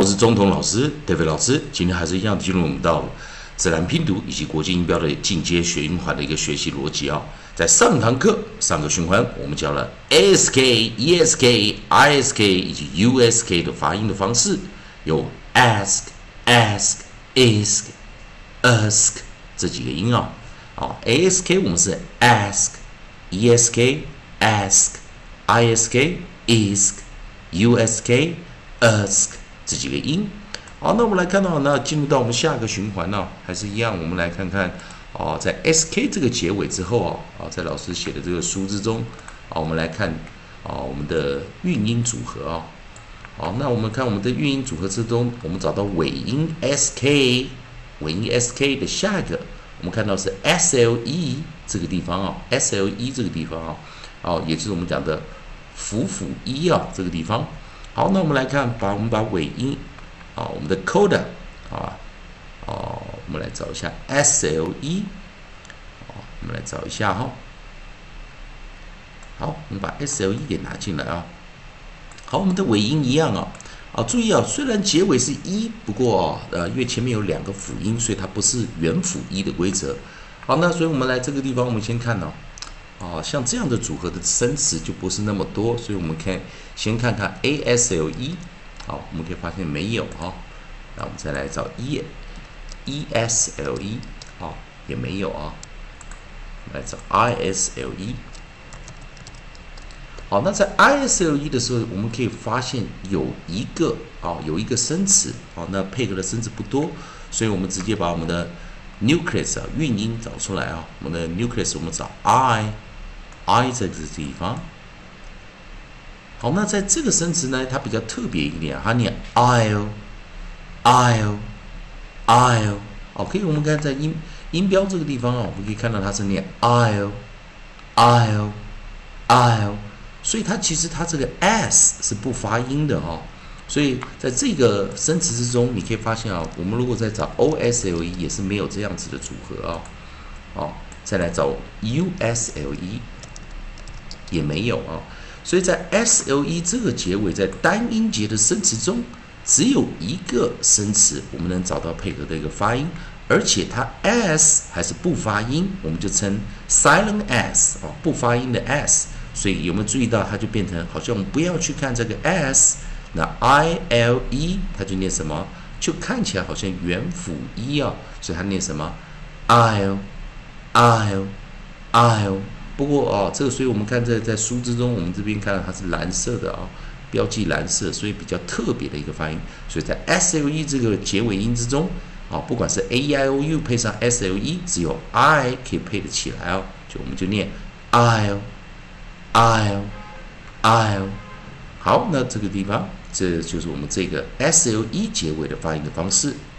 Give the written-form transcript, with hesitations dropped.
我是中童老师 David 老师。今天还是一样进入我们到自然拼读以及国际音标的进阶学音环的一个学习逻辑啊。在上堂课上个循环，我们教了 ask、esk、isk 以及 usk 的发音的方式，有 ask、isk、这几个音啊。ask 我们是 ask、esk、ask、isk、isk、usk、ask 这几个音。好，那我们来看到，那进入到我们下个循环呢，还是一样，我们来看看在 sk 这个结尾之后在老师写的这个书之中我们来看我们的韵音组合好，那我们看我们的韵音组合之中，我们找到尾音 sk， 尾音 sk 的下一个，我们看到是 SLE 这个地方SLE 这个地方也就是我们讲的辅一这个地方。好，那我们来看，我们把尾音我们的 coda 我们来找一下 SLE， 我们来找一下好，我们把 SLE 给拿进来好，我们的尾音一样注意虽然结尾是一，不过因为前面有两个辅音，所以它不是元辅一的规则。好，那所以我们来这个地方，我们先看像这样的组合的生词就不是那么多，所以我们先看看 ASLE， 好，我们可以发现没有那我们再来找 ESLE， 也没有我们来找 ISLE。好，那在 ISLE 的时候，我们可以发现有一个生词那配合的生词不多，所以我们直接把我们的 nucleus 韵音找出来我们的 nucleus 我们找 I 在这个地方。好，那在这个生词呢，它比较特别一点，它念 I'll， 可以我们看在音标这个地方我们可以看到它是念 I'll， 所以它其实它这个 s 是不发音的所以在这个生词之中，你可以发现我们如果再找 OSLE 也是没有这样子的组合再来找 USLE 也没有所以在 SLE 这个结尾，在单音节的生词中，只有一个生词我们能找到配合的一个发音，而且它 s 还是不发音，我们就称 silent s 不发音的 s。所以有没有注意到，它就变成好像我们不要去看这个 s， 那 ILE 它就念什么？就看起来好像元辅一所以它念什么 ？I'll。不过这个，所以我们看在书之中，我们这边看到它是蓝色的标记蓝色，所以比较特别的一个发音。所以在 SLE 这个结尾音之中不管是 AEIOU 配上 SLE， 只有 I 可以配得起来就我们就念 I'll。好，那这个地方，这就是我们这个 SLE 结尾的发音的方式。